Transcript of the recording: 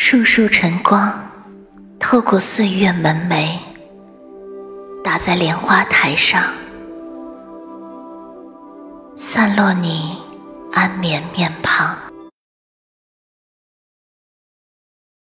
束束晨光透过岁月门楣，打在莲花台上，散落你安眠面庞。